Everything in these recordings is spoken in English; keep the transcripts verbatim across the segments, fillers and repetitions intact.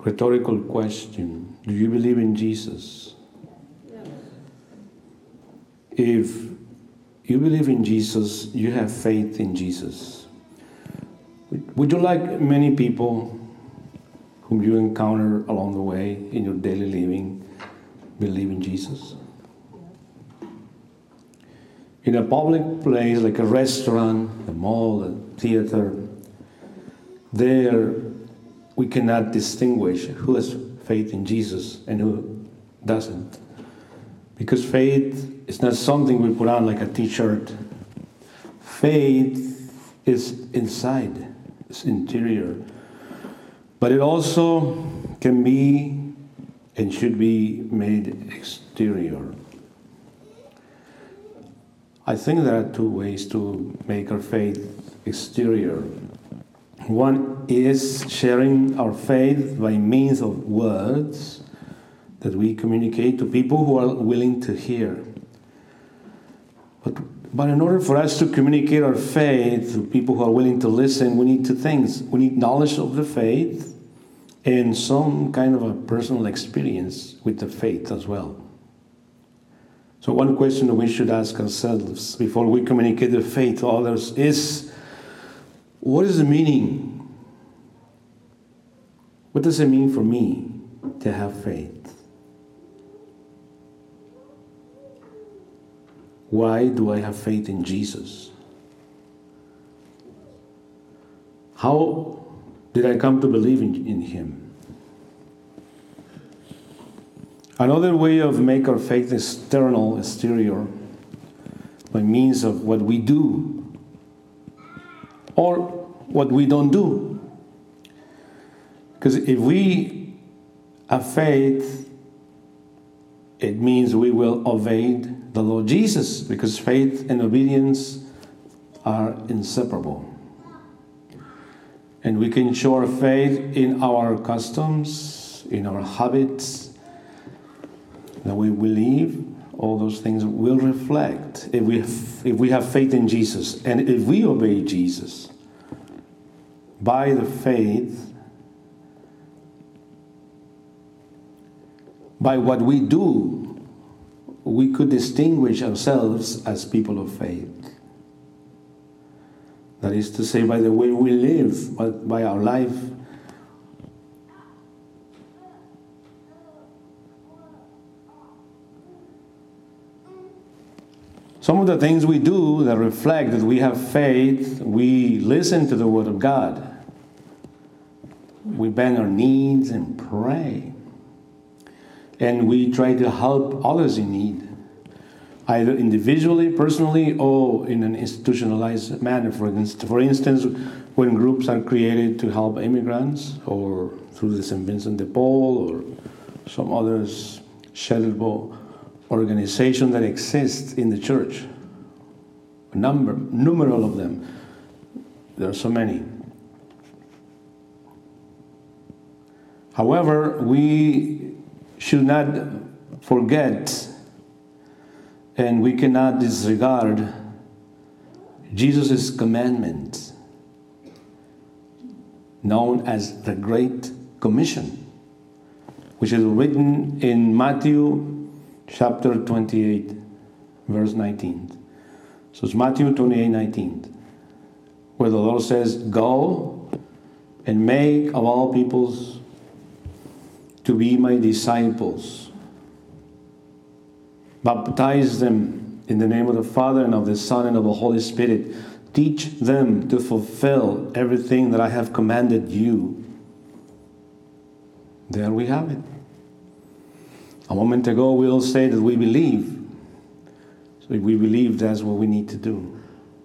rhetorical question. Do you believe in Jesus? Yes. If you believe in Jesus, you have faith in Jesus. Would you, like many people whom you encounter along the way in your daily living, believe in Jesus? In a public place like a restaurant, a mall, a theater, there we cannot distinguish who has faith in Jesus and who doesn't. Because faith is not something we put on like a t-shirt. Faith is inside, it's interior. But it also can be and should be made exterior. I think there are two ways to make our faith exterior. One is sharing our faith by means of words that we communicate to people who are willing to hear. But, but in order for us to communicate our faith to people who are willing to listen, we need two things. We need knowledge of the faith and some kind of a personal experience with the faith as well. So one question that we should ask ourselves before we communicate the faith to others is, what is the meaning? What does it mean for me to have faith? Why do I have faith in Jesus? How did I come to believe in, in Him? Another way of make our faith external, exterior, by means of what we do or what we don't do. Because if we have faith, it means we will obey the Lord Jesus, because faith and obedience are inseparable. And we can show our faith in our customs, in our habits, that we believe. All those things will reflect if we have, if we have faith in Jesus, and if we obey Jesus. By the faith, by what we do, we could distinguish ourselves as people of faith. That is to say, by the way we live, by, by our life. Some of the things we do that reflect that we have faith, we listen to the Word of God. We bend our knees and pray. And we try to help others in need, either individually, personally, or in an institutionalized manner. For instance, for instance, when groups are created to help immigrants, or through the Saint Vincent de Paul, or some others charitable organization that exists in the church. A number, numerous of them. There are so many. However, we should not forget, and we cannot disregard Jesus' commandment, known as the Great Commission, which is written in Matthew chapter twenty-eight, verse nineteen. So it's Matthew twenty-eight, nineteen, where the Lord says, "Go and make of all peoples to be my disciples. Baptize them in the name of the Father and of the Son and of the Holy Spirit. Teach them to fulfill everything that I have commanded you." There we have it. A moment ago, we all say that we believe. So if we believe, that's what we need to do.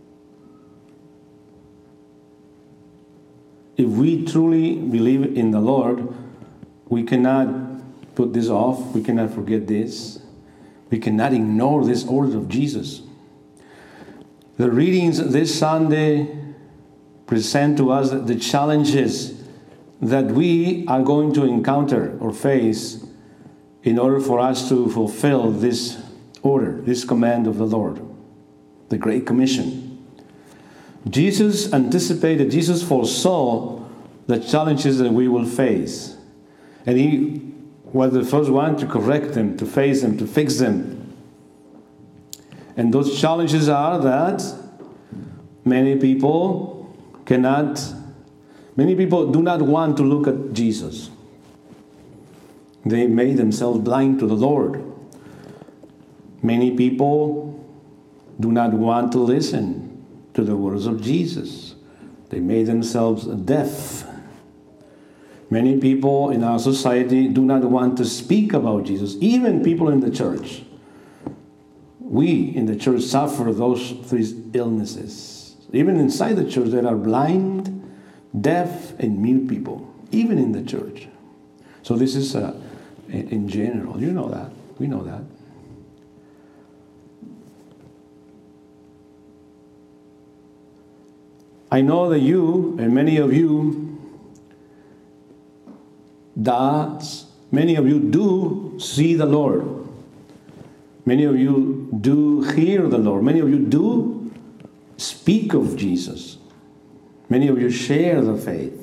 If we truly believe in the Lord, we cannot put this off. We cannot forget this. We cannot ignore this order of Jesus. The readings this Sunday present to us the challenges that we are going to encounter or face in order for us to fulfill this order, this command of the Lord, the Great Commission. Jesus anticipated, Jesus foresaw the challenges that we will face. And he was the first one to correct them, to face them, to fix them. And those challenges are that many people cannot, many people do not want to look at Jesus. They made themselves blind to the Lord. Many people do not want to listen to the words of Jesus. They made themselves deaf. Many people in our society do not want to speak about Jesus, even people in the church. We in the church suffer those three illnesses. Even inside the church, there are blind, deaf, and mute people, even in the church. So this is uh, in general. You know that. We know that. I know that you, and many of you, does, many of you do see the Lord. Many of you do hear the Lord. Many of you do speak of Jesus. Many of you share the faith.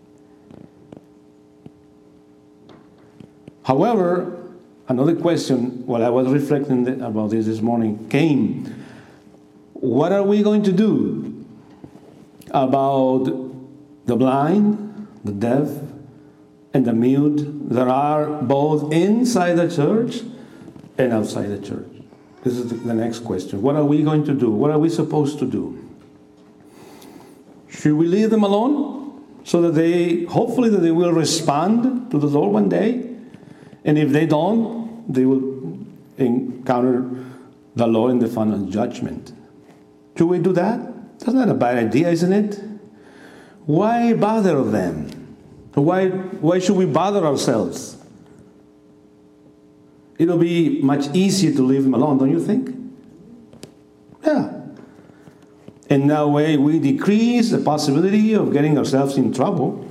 However, another question, while I was reflecting about this this morning, came. What are we going to do about the blind, the deaf, and the mute that are both inside the church and outside the church? This is the next question. What are we going to do? What are we supposed to do? Should we leave them alone so that they, hopefully that they will respond to the Lord one day? And if they don't, they will encounter the Lord in the final judgment. Should we do that? That's not a bad idea, isn't it? Why bother them? Why, why should we bother ourselves? It'll be much easier to leave them alone, don't you think? Yeah. In that way, we decrease the possibility of getting ourselves in trouble.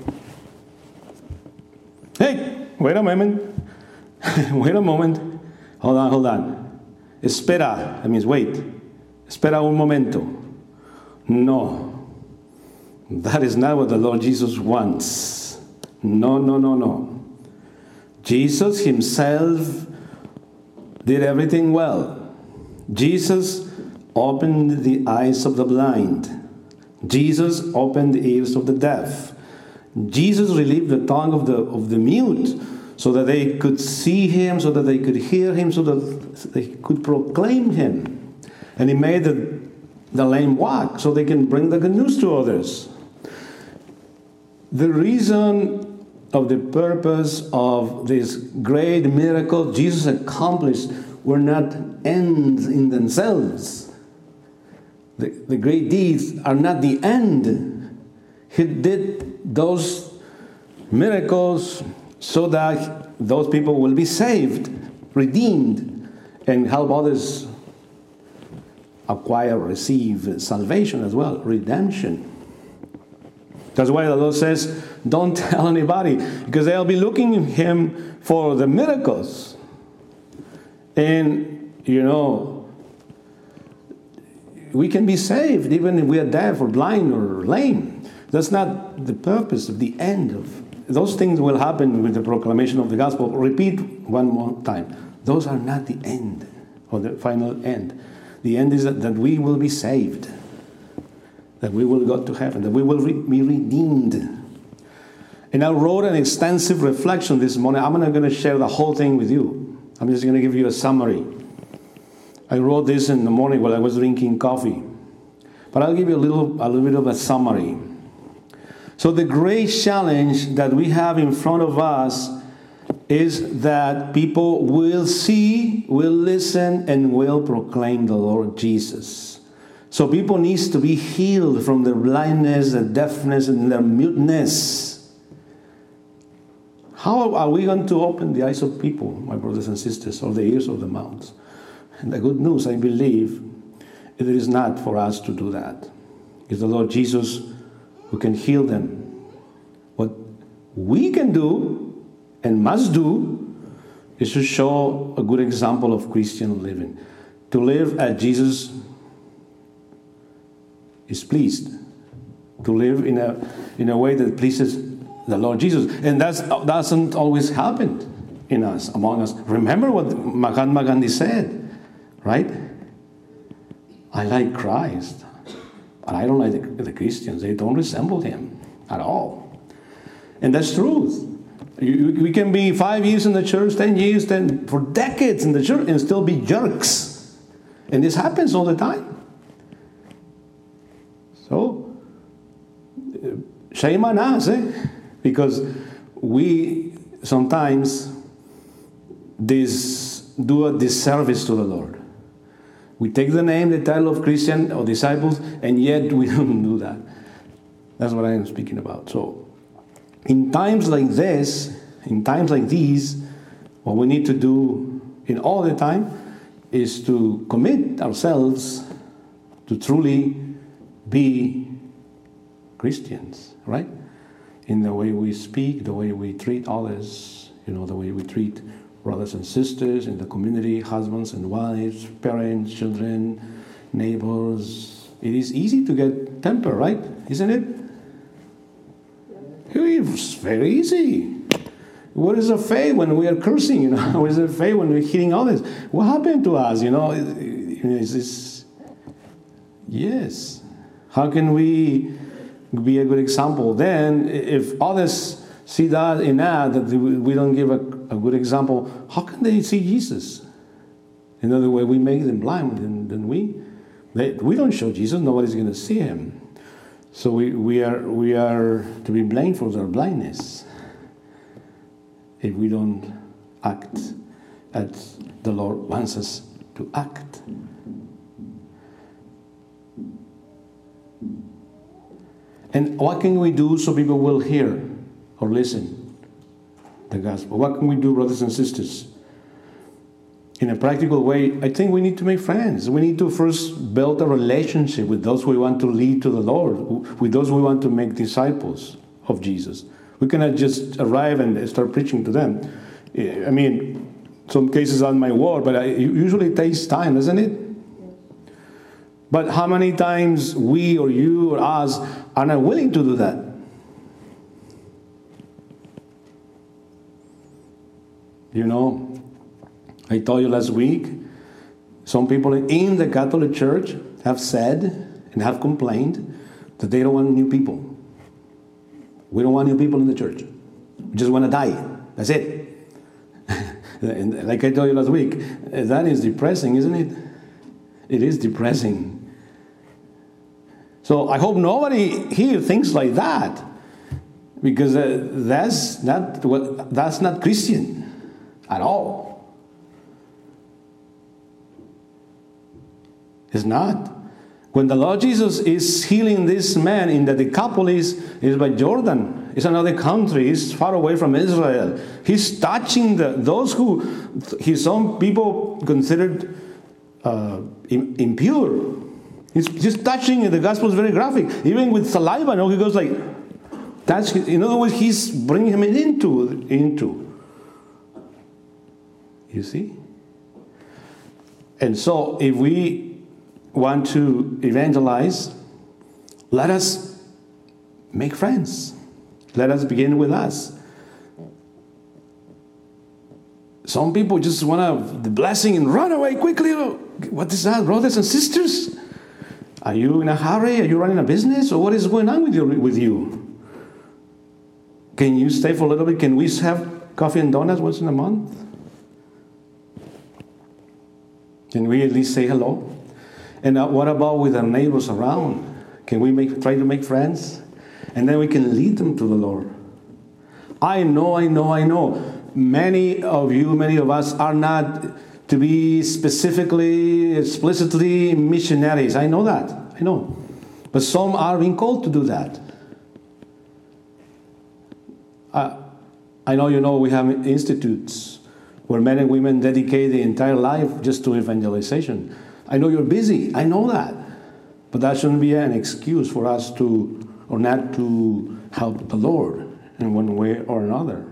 Hey, wait a moment. Wait a moment. Hold on, hold on. Espera. That means wait. Espera un momento. No. That is not what the Lord Jesus wants. No, no, no, no. Jesus himself did everything well. Jesus opened the eyes of the blind. Jesus opened the ears of the deaf. Jesus relieved the tongue of the, of the mute so that they could see him, so that they could hear him, so that they could proclaim him. And he made the, the lame walk so they can bring the good news to others. The reason of the purpose of this great miracle Jesus accomplished were not ends in themselves. The, the great deeds are not the end. He did those miracles so that those people will be saved, redeemed, and help others acquire, receive salvation as well, redemption. That's why the Lord says, don't tell anybody, because they'll be looking at him for the miracles. And, you know, we can be saved even if we are deaf or blind or lame. That's not the purpose of the end of. Those things will happen with the proclamation of the gospel. Repeat one more time. Those are not the end, or the final end. The end is that, that we will be saved. That we will go to heaven. That we will re- be redeemed. And I wrote an extensive reflection this morning. I'm not going to share the whole thing with you. I'm just going to give you a summary. I wrote this in the morning while I was drinking coffee. But I'll give you a little, a little bit of a summary. So the great challenge that we have in front of us is that people will see, will listen, and will proclaim the Lord Jesus. So people need to be healed from their blindness, their deafness, and their muteness. How are we going to open the eyes of people, my brothers and sisters, or the ears of the mouths? And the good news, I believe, it is not for us to do that. It's the Lord Jesus who can heal them. What we can do and must do is to show a good example of Christian living. To live as Jesus is pleased. To live in a, in a way that pleases the Lord Jesus. And that doesn't always happen in us, among us. Remember what Mahatma Gandhi said, right? I like Christ, but I don't like the, the Christians. They don't resemble him at all. And that's truth. You, we can be five years in the church, ten years, ten, for decades in the church, and still be jerks. And this happens all the time. So, shame on us, eh? Because we sometimes this, do a disservice to the Lord. We take the name, the title of Christian or disciples, and yet we don't do that. That's what I am speaking about. So, in times like this, in times like these, what we need to do in all the time is to commit ourselves to truly be Christians, right? In the way we speak, the way we treat others, you know, the way we treat brothers and sisters in the community, husbands and wives, parents, children, neighbors. It is easy to get temper, right? Isn't it? It's very easy. What is a faith when we are cursing? You know, what is a faith when we're hitting others? What happened to us? You know, is this? Yes. How can we be a good example? Then, if others see that in us, that we don't give a, a good example, how can they see Jesus? In other words, we make them blind, then, then we they, we don't show Jesus. Nobody's going to see him. So we, we are we are to be blamed for their blindness if we don't act as the Lord wants us to act. And what can we do so people will hear or listen the gospel? What can we do, brothers and sisters? In a practical way, I think we need to make friends. We need to first build a relationship with those we want to lead to the Lord, with those we want to make disciples of Jesus. We cannot just arrive and start preaching to them. I mean, some cases on my word, but it usually takes time, doesn't it? But how many times we or you or us are not willing to do that? You know, I told you last week, some people in the Catholic Church have said and have complained that they don't want new people. We don't want new people in the church. We just want to die. That's it. And like I told you last week, that is depressing, isn't it? It is depressing. So I hope nobody here thinks like that, because uh, that's not what that's not Christian at all. It's not. When the Lord Jesus is healing this man in the Decapolis, is by Jordan. It's another country. It's far away from Israel. He's touching the, those who his own people considered uh, impure. He's just touching. The gospel is very graphic. Even with saliva, you know, he goes like, touch. In other words, he's bringing him into into. You see. And so, if we want to evangelize, let us make friends. Let us begin with us. Some people just want the blessing and run away quickly. What is that, brothers and sisters? Are you in a hurry? Are you running a business? Or what is going on with you? With you? Can you stay for a little bit? Can we have coffee and donuts once in a month? Can we at least say hello? And what about with our neighbors around? Can we make try to make friends? And then we can lead them to the Lord. I know, I know, I know. Many of you, many of us are not to be specifically, explicitly missionaries. I know that. I know. But some are being called to do that. Uh, I know you know we have institutes where men and women dedicate the entire life just to evangelization. I know you're busy. I know that. But that shouldn't be an excuse for us to, or not to help the Lord in one way or another.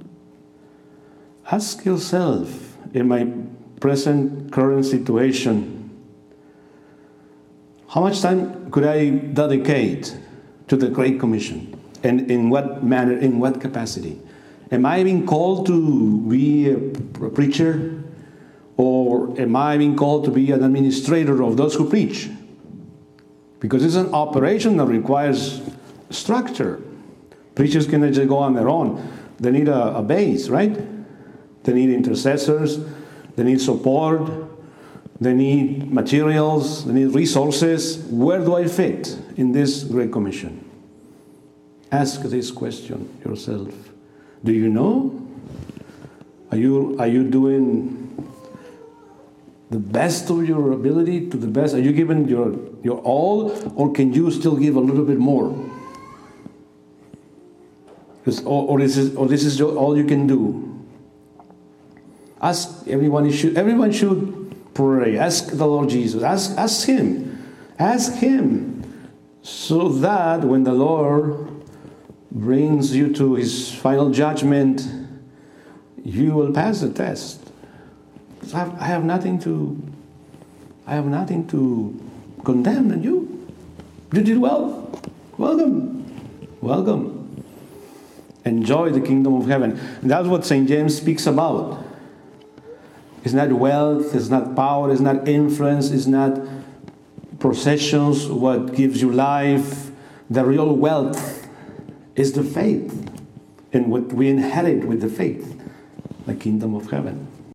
Ask yourself, in my present current situation, how much time could I dedicate to the Great Commission? And in what manner, in what capacity? Am I being called to be a preacher? Or am I being called to be an administrator of those who preach? Because it's an operation that requires structure. Preachers cannot just go on their own. They need a, a base, right? They need intercessors. They need support. They need materials. They need resources. Where do I fit in this Great Commission? Ask this question yourself. Do you know? Are you, are you doing the best of your ability, to the best? Are you giving your, your all, or can you still give a little bit more? Or, or, this is, or this is all you can do? Ask everyone. Should, everyone should pray. Ask the Lord Jesus. Ask, ask Him. Ask Him. So that when the Lord brings you to His final judgment, you will pass the test. I have, I have nothing to, I have nothing to condemn in you. You did well. Welcome. Welcome. Enjoy the kingdom of heaven. And that's what Saint James speaks about. It's not wealth, it's not power, it's not influence, it's not possessions, what gives you life. The real wealth is the faith. And what we inherit with the faith, the kingdom of heaven.